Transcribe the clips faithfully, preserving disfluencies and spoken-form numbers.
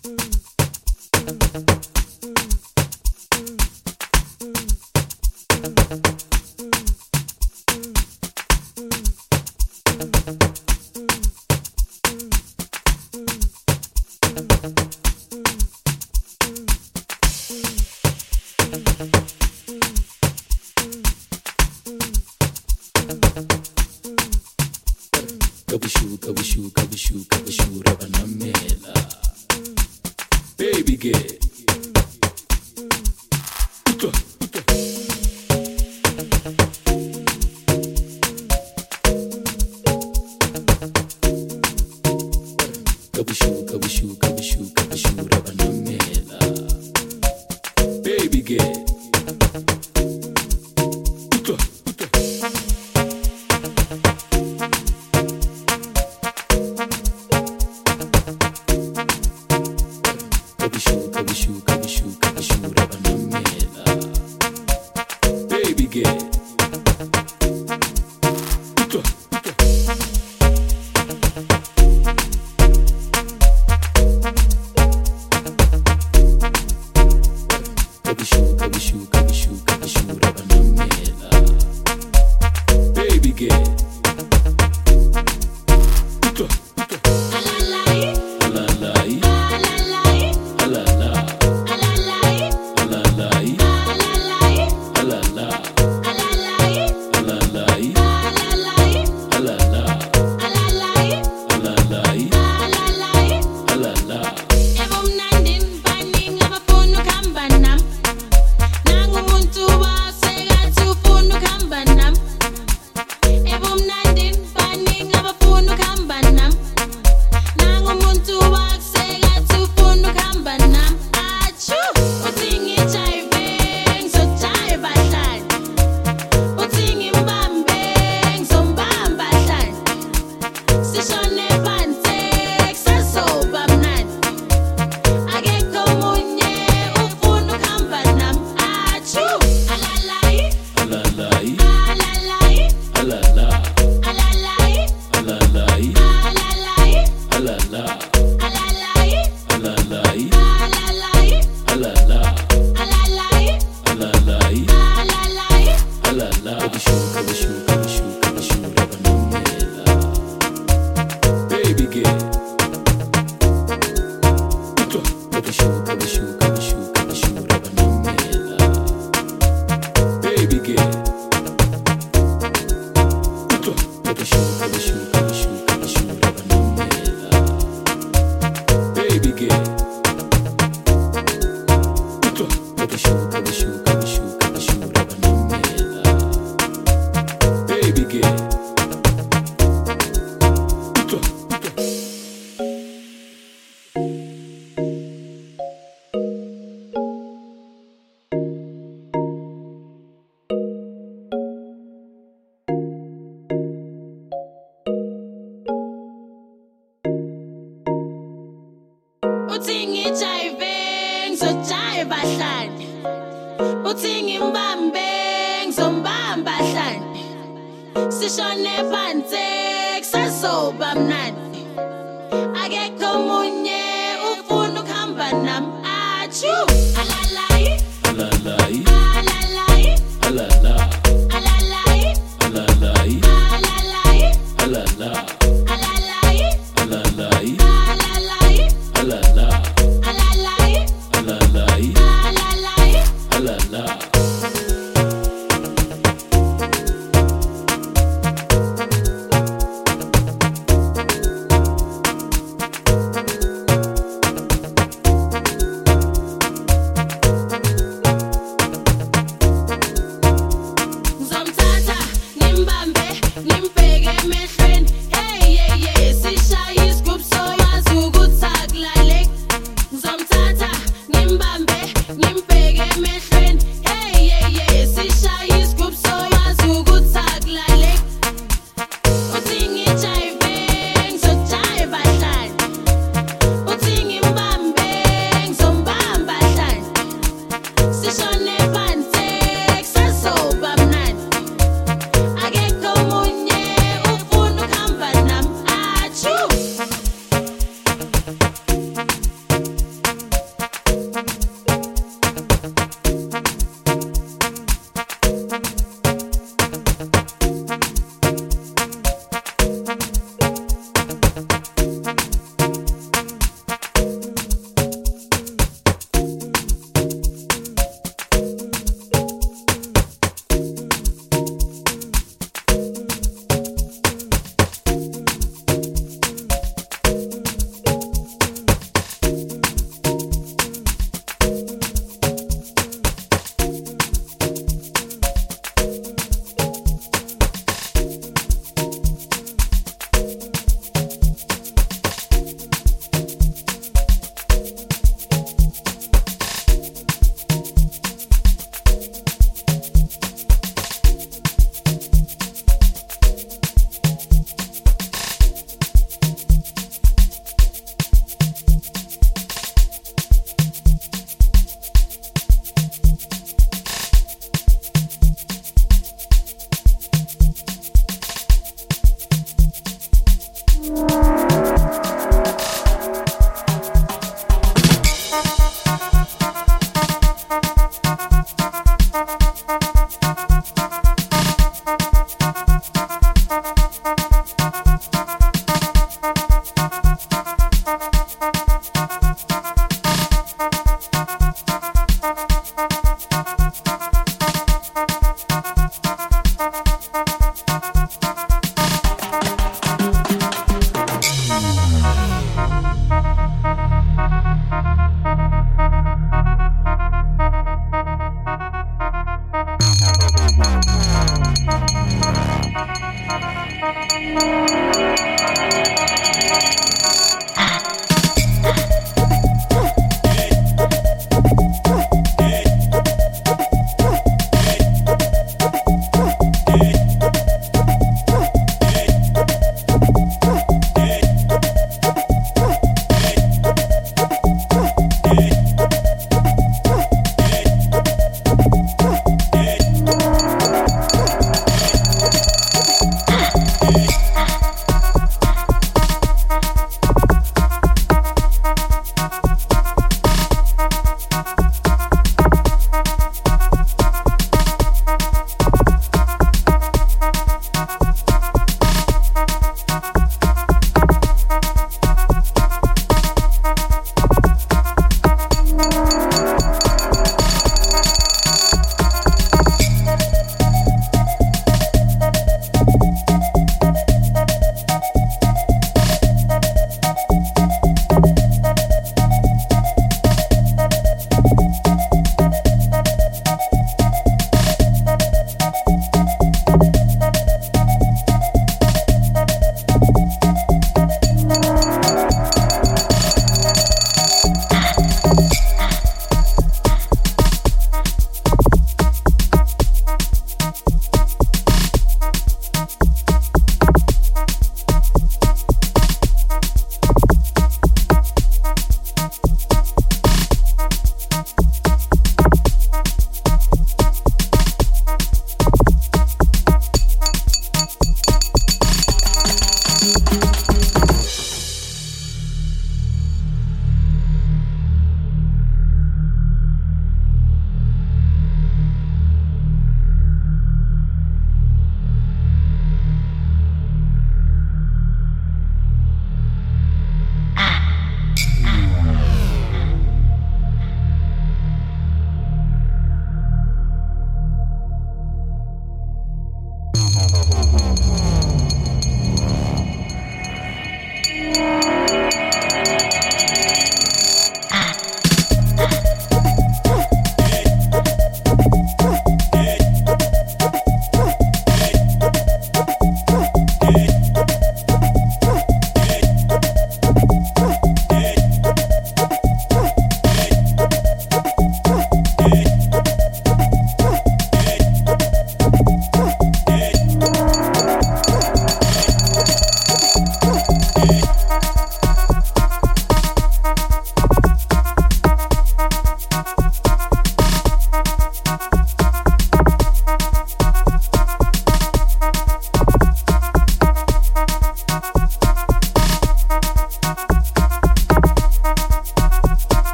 Kabushuka, bushuka, bushuka, bushura banamela. Baby girl. Uta, uta. Kabushuka, bushuka, bushuka, bushura banamela. Baby girl. Uta, uta. Kabushuka, bushuka, bushuka, bushura banamela. Baby girl. Uta, uta. Kabushuka, bushuka, bushuka, bushura banamela. Baby girl. Uta, uta. Alalai. Alalai. Alala. Alalai. Alalai. Alala. Alalai. Alala. Alalai. Alala. Ebumnandi baningi abafuna ukuhamba nami. Nangumuntu wasengathi ufuna ukuhamba nami. Ebumnandi baningi abafuna ukuhamba nami. Nangumuntu wasengathi ufuna ukuhamba nami. Achu, uthi ngijive, ngizojiva hlanje. Uthi ngimbambe, ngizombamba hlanje. Sishone phansi, kusazoba mnandi. Akekho omunye ufuna ukuhamba nami. Achu, alalai, Alalai. alalai, Alala. alalai, Alalai. alalai, Alala. alalai, Alalai. alalai, Alala. alalai, Alalai. alalai. Alala. Kabushuka, bushuka, bushuka, bushura banamela. Baby girl. Uta. Kabushuka, bushuka, bushuka, bushura banamela. Baby girl. Uta. Kabushuka, bushuka, bushuka, bushura banamela. Baby girl. Uta. Kabushuka, bushuka, bushuka, bushura banamela. Baby girl. Uta, uta. Uthi ngijive, ngizojiva hlanje. Uthi ngimbambe, ngizombamba hlanje. Sishone phansi, kusazoba mnandi. Akekho omunye ufuna ukuhamba nami. Achu, alalai, Alalai. alalai, Alala. alalai, Alalai. alalai, Alala. alalai, Alalai. alalai, Alala. alalai, Alalai. alalai. Alala.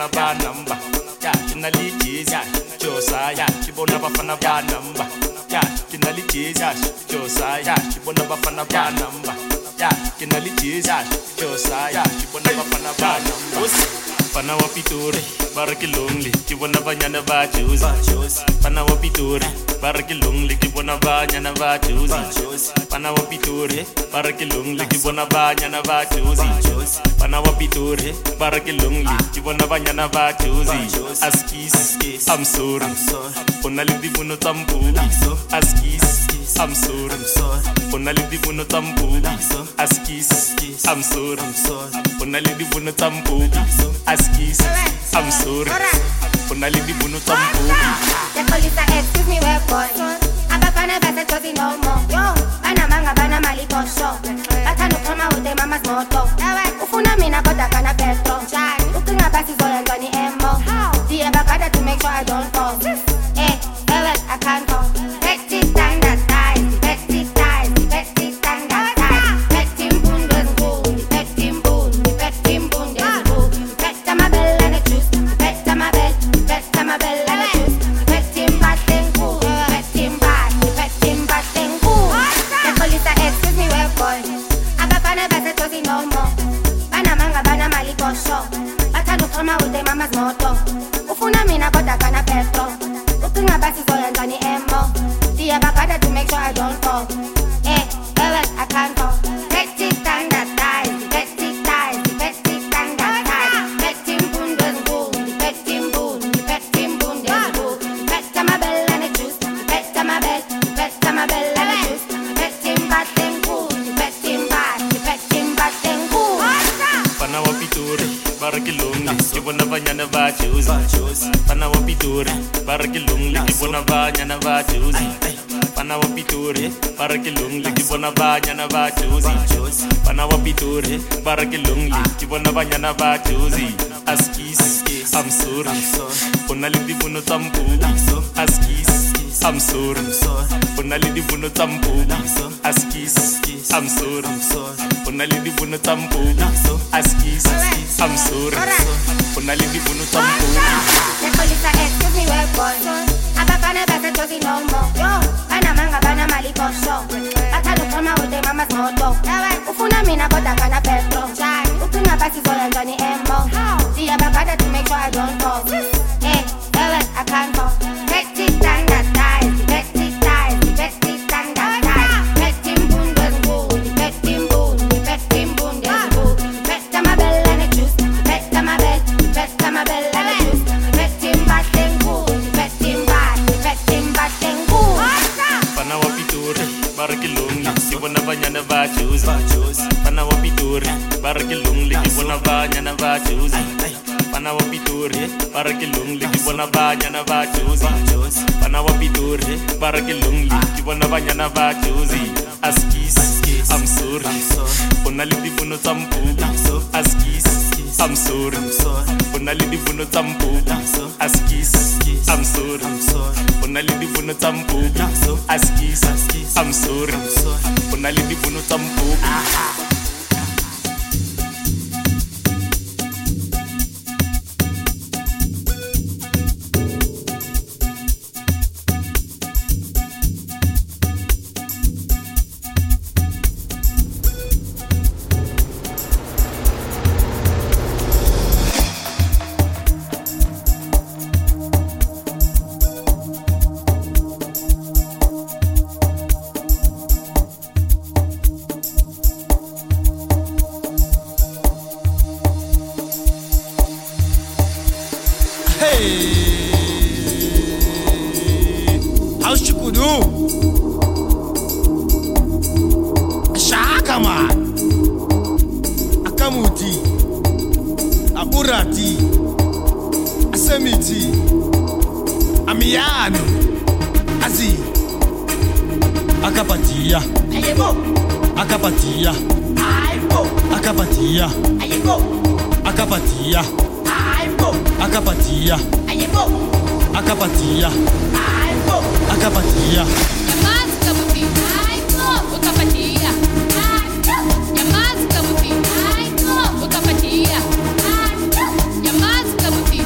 bafana ba number. Ya kina li jizz Josa ya kibona bafana ba number. Ya kina li jizz Josa ya kibona bafana ba number. Ya kina li jizz Josa ya kibona bafana ba number. Pana wa Pitori, baraki lonely, kibona banyana ba choose. Pana wa Pitori, baraki lonely, kibona banyana ba choose. Pana wa Pitori, baraki lonely, kibona banyana ba choose. Pana wa Pitori, baraki lonely, kibona banyana ba choose. Askis, I'm sorry. Ona lidi buno tampu. Askis, I'm sorry. Ona lidi buno tampu. Askis, I'm sorry. Ona lidi buno tampu. Askis, I'm sorry. Ona lidi buno tampu. The police are excuse me, where boy. Abafana basa chozi no more. Yo, bana manga bana mali posho. Batano kama ude mama's moto. Ufuna mina kota kana petro. Ukinga basi zoya njani emo. Diye bakada to make sure I don't fall. Eh, ewe, I can't fall. Petty standard size, petty size, petty standard size. Petty mbundes mbun, petty mbun, petty mbundes mbun. Petta ma belle and the juice, petta ma belle, petta ma belle and the juice. Petty mbaten cool, petty mbat, petty mbaten cool. The police are excuse me, where boy. Abafana basa chozi no more. Bana manga bana mali posho. Batano kama ude mama's moto. Ufuna mina kota kana petro. Ukinga basi zoya njani emo. Diya bakada to make sure I don't fall. Eh, ewe, I can't fall. Petty standard size, petty size, petty standard size. Petty mbundes mbun, petty mbun, petty mbundes mbun. Petta ma belle and the juice, petta ma belle, petta ma belle and the juice. Petty mbaten cool, petty mbat, petty mbaten cool. Pana wa Pitori, baraki lonely, kibona banyana ba choose. Pana wa Pitori, baraki lonely, kibona banyana ba choose. Pana wa Pitori, baraki lonely, kibona banyana ba choose. Pana wa Pitori, baraki lonely, kibona banyana ba choose. Askis, I'm sorry. Ona lidi buno tampu. Askis, I'm sorry. Ona lidi buno tampu. Askis, I'm sorry. Ona lidi buno tampu. Askis, I'm sorry. Ona lidi buno tampu. The police are excuse me, where boy. Abafana basa chozi no more. Yo, bana manga bana mali posho. Batano kama ude mama's moto. Ufuna mina kota kana petro. Ukinga basi zoya njani emo. Diya bakada to make sure I don't fall. Eh, ewe, I can't fall. Petty standard size, petty size, petty standard size. Petty mbundes mbun, petty mbun, petty mbundes mbun. Petta ma belle and the juice, petta ma belle, petta ma belle and the juice. Petty mbaten cool, petty mbat, petty mbaten cool. Pana wa Pitori, baraki lonely, kibona banyana ba choose. Pana wa Pitori, baraki lonely, kibona banyana ba choose. Pana wa Pitori, baraki lonely, kibona banyana ba choose. Pana wa Pitori, baraki lonely, kibona banyana ba choose. Askis, I'm sorry. Ona lidi buno tampu. Askis, I'm sorry. Ona lidi buno tampu. Askis, I'm sorry. Ona lidi buno tampu. Askis, I'm sorry. Ona lidi buno tampu. How's Chukudu? Shaka man. Akamuti. Aburati. Asemiti. Amiano. Azi. Akapatia. Ayebo, Akapatia. ayebo, Akapatia. ayebo, Akapatia. ayebo, Akapatia. ayebo, Akapatia. ayebo. Akapatia. Nyamaza kabuti, aiko, ukapatia. Nyamaza kabuti, aiko, ukapatia. Nyamaza kabuti,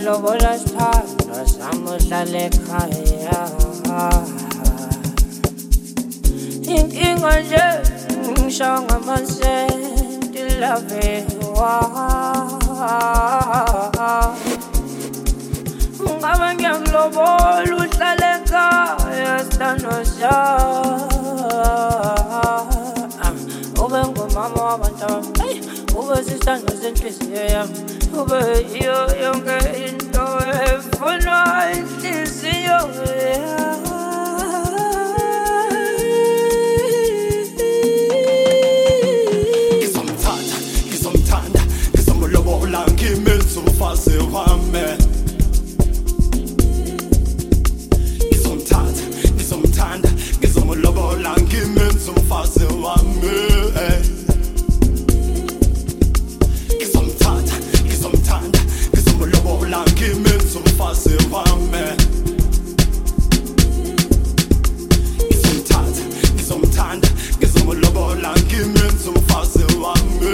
lobola sithando samuhlala ekhaya. Inkinga nje ngishawa ngamasenti lave ungabe ngiyakulobola uhlale ekhaya sithando sami. Ube ngumama wabantwana, ube sisithando senhliziyo yami, ube yiyo yonke into efunwa inhliziyo yami. Ngizomthanda, ngizomthanda, ngizomlobola ngimenze umfazi wami. Ngizomthanda, ngizomthanda, ngizomlobola ngimenze umfazi wami. Ngizomthanda, ngizomthanda, ngizomlobola ngimenze umfazi wami. Ngizomthanda, ngizomthanda, ngizomlobola ngimenze umfazi wami.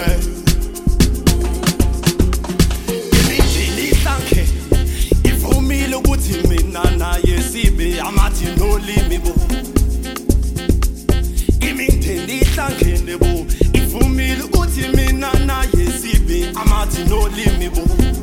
Imindeni ihlanke ivumile ukuthi mina naye sibe amathi nolimi bo. Imindeni ihlangene bo, ivumile ukuthi mina naye sibe amathi nolimi bo.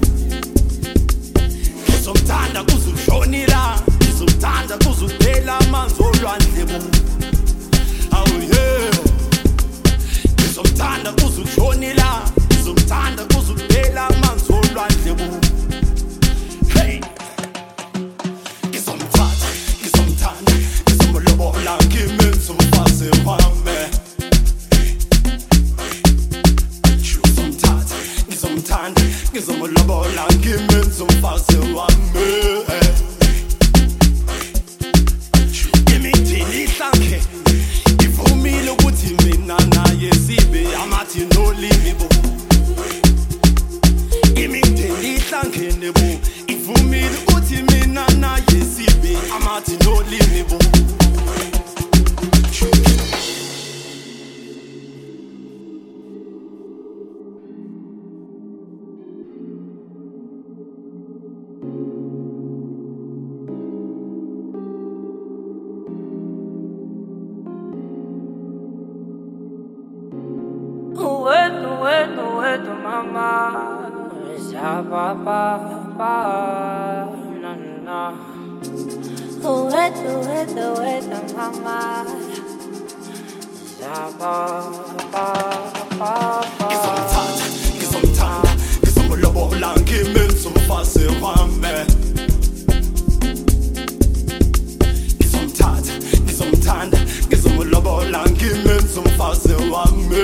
Ngizomthanda kuze ushonila, ngizomthanda kuze uphela amanzi olwandle bo. Oh yeah. Ngizomthanda kuze ushonila, ngizomthanda kuze uphela amanzi olwandle bo. Hey. Ngizomthanda, ngizomthanda, ngizomlobola ngimenze umfazi wami. Ngizomthanda, ngizomthanda, ngizomlobola ngimenze umfazi wami. Imindeni ihlanke ivumile ukuthi mina naye sibe amathi nolimi bo. Imindeni ihlangene bo, ivumile ukuthi mina naye sibe amathi nolimi bo. Uwetu, wetu, wetu mama, sababa, na na. Uwetu, wetu, wetu mama, sababa, Ngizomthanda, ngizomthanda, ngizomlobola ngimenze umfazi wami. Ngizomthanda, ngizomthanda, ngizomlobola ngimenze umfazi wami.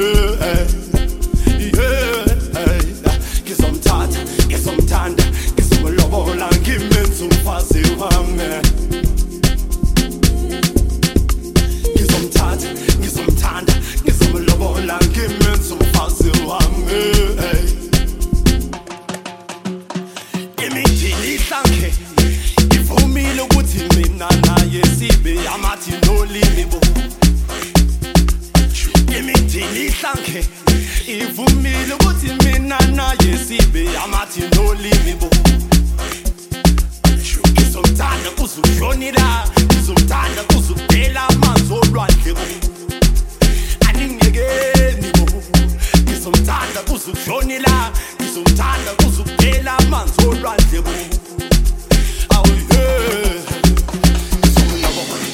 Yeah, ngizomthanda, ngizomthanda, ngizomlobola ngimenze umfazi wami. Ngizomthanda, ngizomthanda, ngizomlobola ngimenze umfazi wami. Imindeni ihlanke ivumile ukuthi mina naye sibe amathi nolimi bo. Imindeni ihlanke ivumile ukuthi mina naye sibe amathi nolimi bo. Ngizomthanda kuze ushonila, ngizomthanda kuze uphela amanzi olwandle bo. Aningekeni bo. Ngizomthanda kuze ushonila, ngizomthanda kuze uphela amanzi olwandle bo. Oh yeah. Ngizomlobola.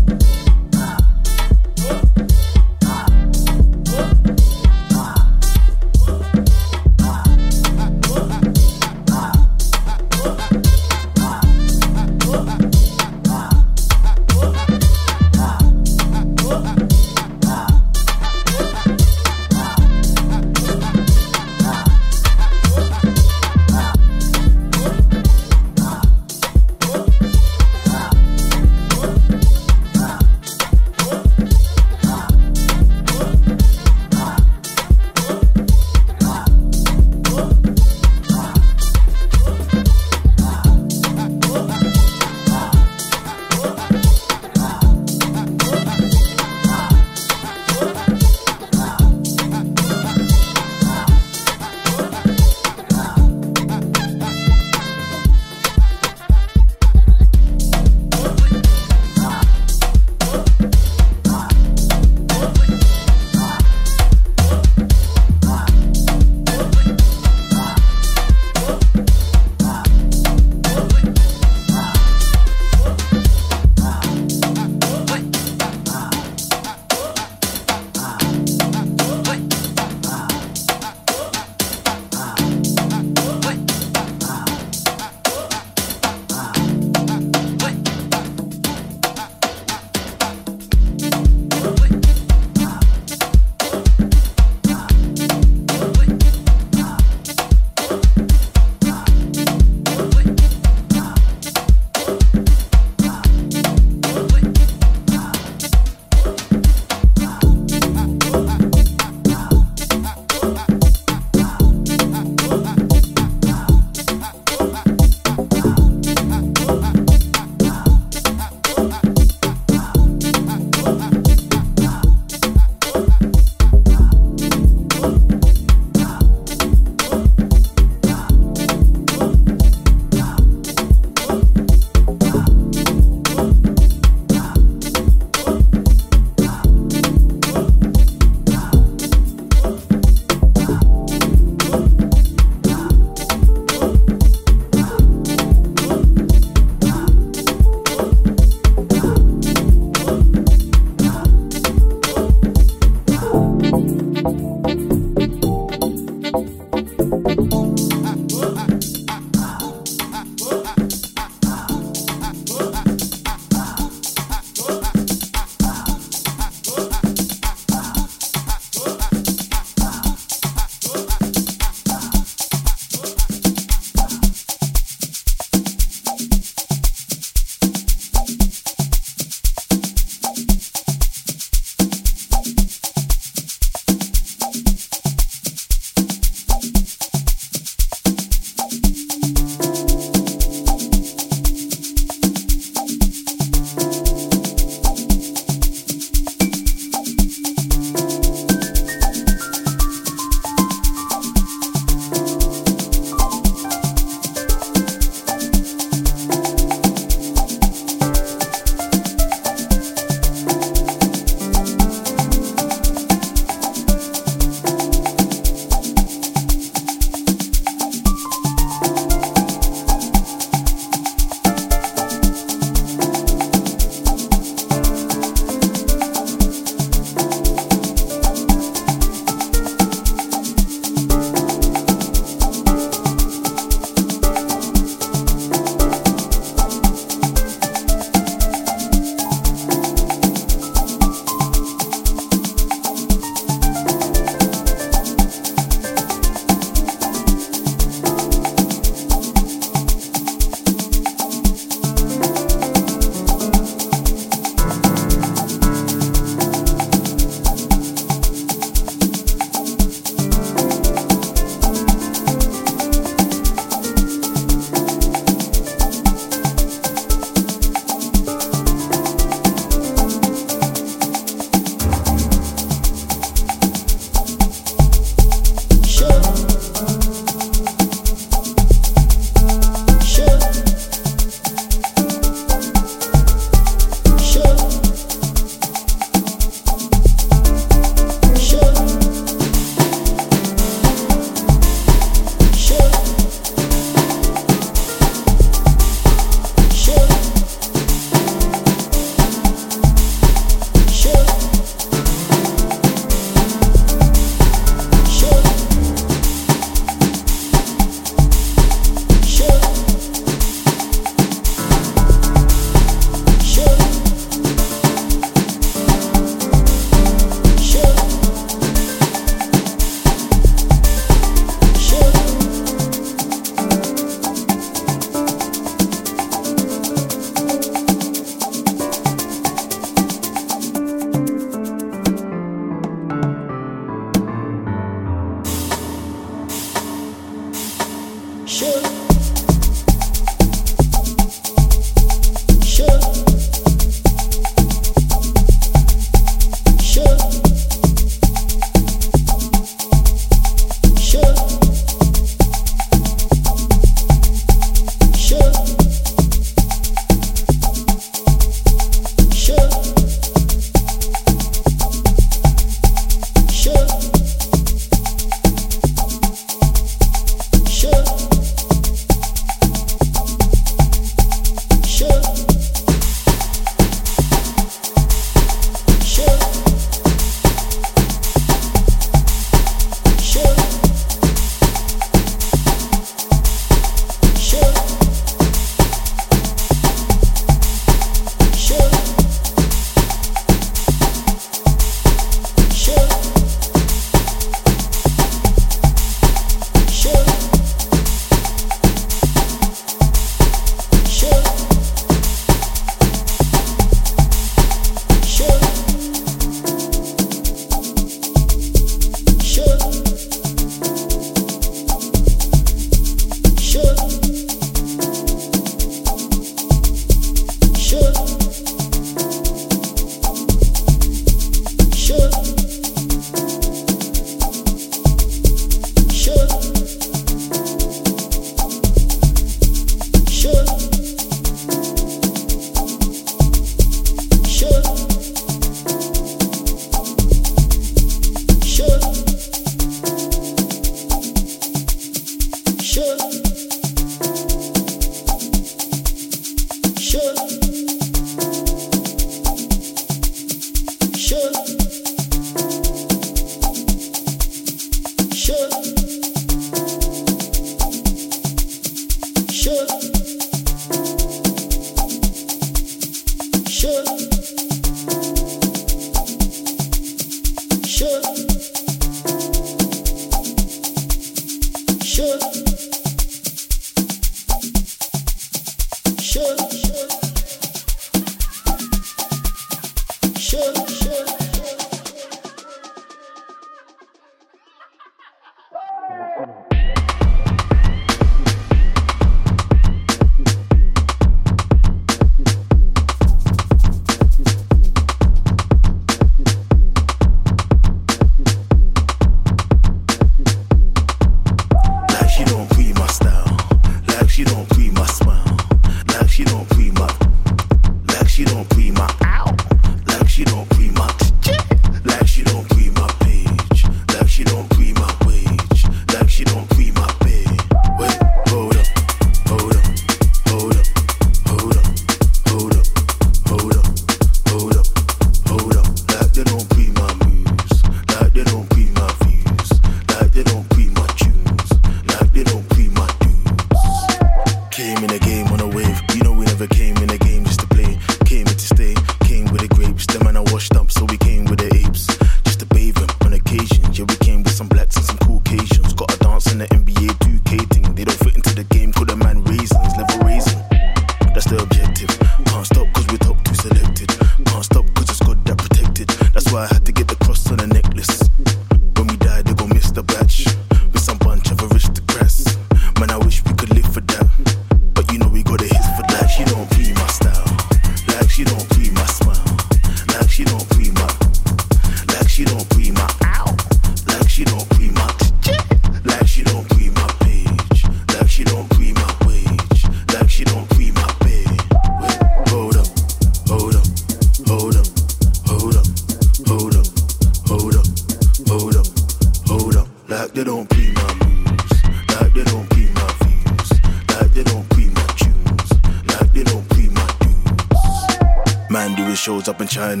shows up in China,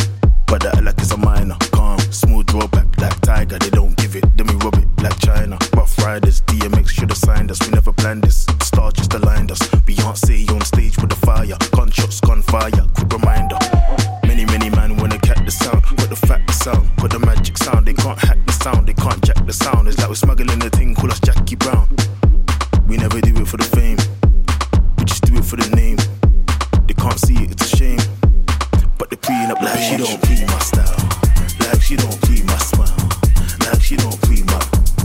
but that like it's a minor. Calm, smooth drawback like Tiger. They don't give it, then we rub it like China. Rough Riders, D M X should have signed us. We never planned this. The star just aligned us. Beyonce on stage with the fire. Gunshots, gunfire, quick reminder. Many, many man wanna catch the sound, but the fact the sound, but the magic sound. They can't hack the sound, they can't jack the sound. It's like we're smuggling the thing, call us Jackie Brown. We never do it for the fame, we just do it for the name. They can't see it, it's a shame. But they're preing up like she don't pre my style, like she don't pre my smile, like she don't pre my,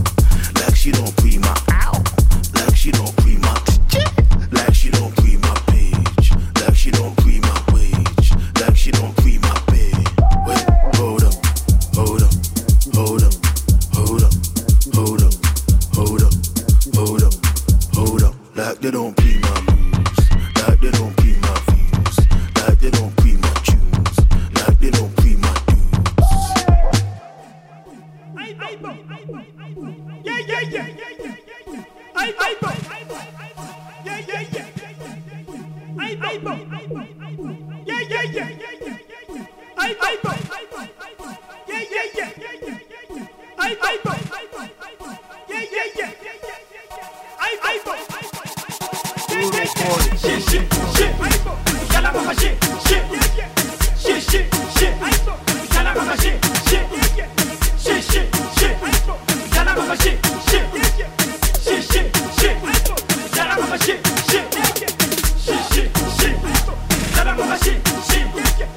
like she don't pre my, ow, like she don't pre my, like she don't pre my page, like she don't pre my wage, like she don't pre my pay. Wait, hold up, hold up, hold up, hold up, hold up, hold up, hold up, hold up, like they don't pre my moves, like they don't pre my views, like they don't pre my tunes, like they don't pre my dues. Yeah, yeah, yeah, yeah, yeah. I, I, yeah, yeah, yeah. I, I, yeah, yeah, yeah, yeah. I, I, yeah, yeah, yeah. I, I, yeah, yeah, yeah. I, I, shit, shit, shit. Yalla mama shit, shit, shit, shit, shit. Yalla mama shit, shit, shit, shit, shit. Yalla mama shit, shit, shit, shit, shit. Yalla mama shit, shit, shit, shit, shit. Yalla mama shit, shit.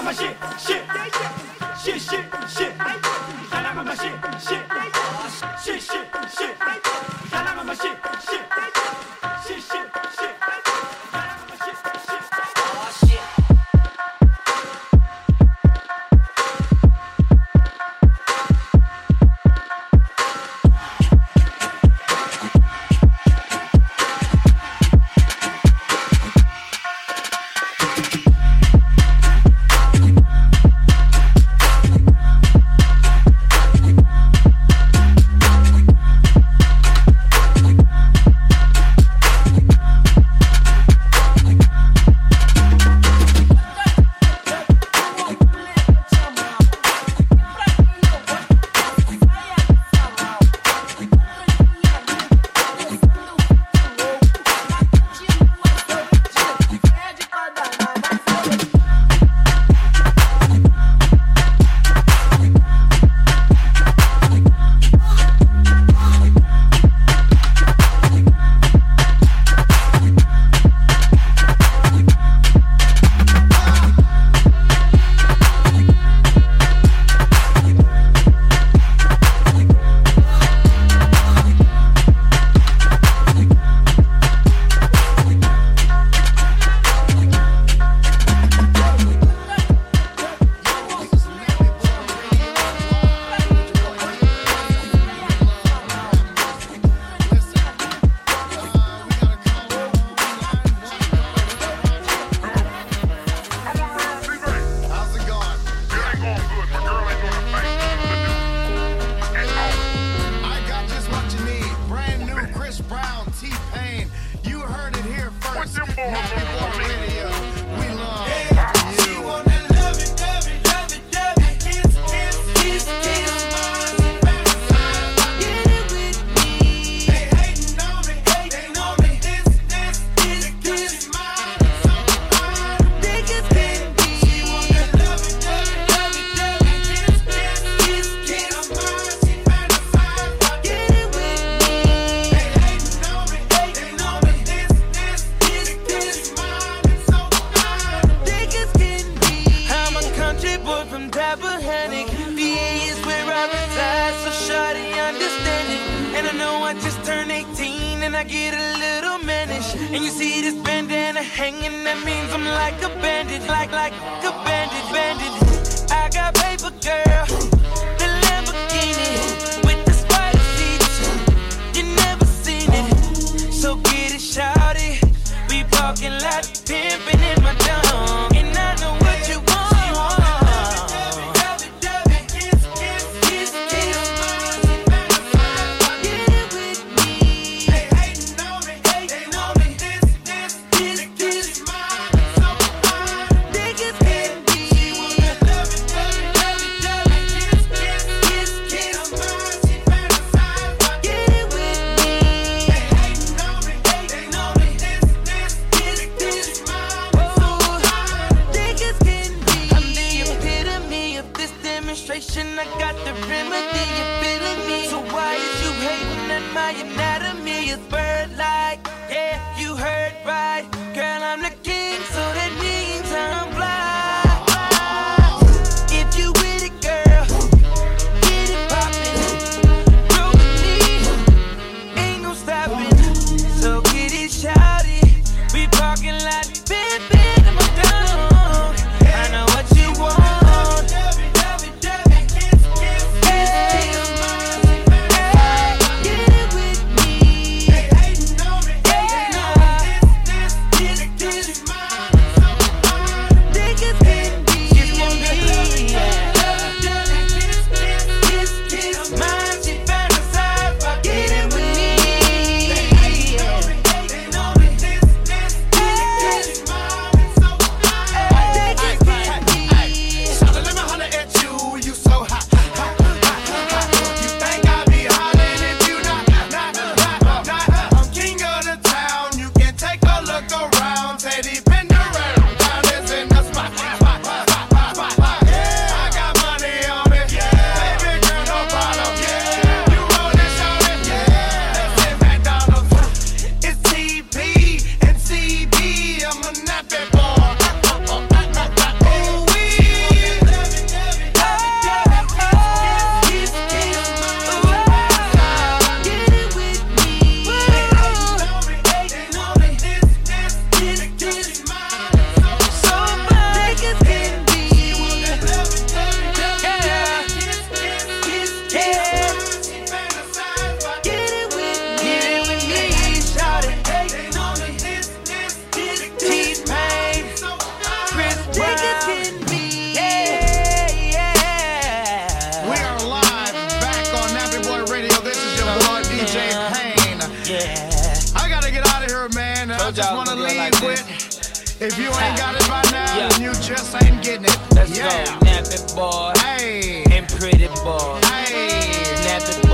my shit, shit, shit, shit, shit. Y'all like my shit, shit, shit, shit, shit. Y'all like my shit, shit, shit, shit, shit. Oh here, man, I Told just y'all wanna gonna do it leave like with. this. If you ain't got it by now, Yeah. then you just ain't getting it. Let's yeah. go, nap it, boy. Hey. And pretty boy. Hey. Nap it,